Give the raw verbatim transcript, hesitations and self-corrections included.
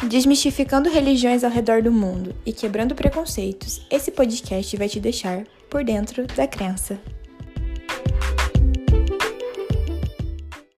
Desmistificando religiões ao redor do mundo e quebrando preconceitos, esse podcast vai te deixar por dentro da crença.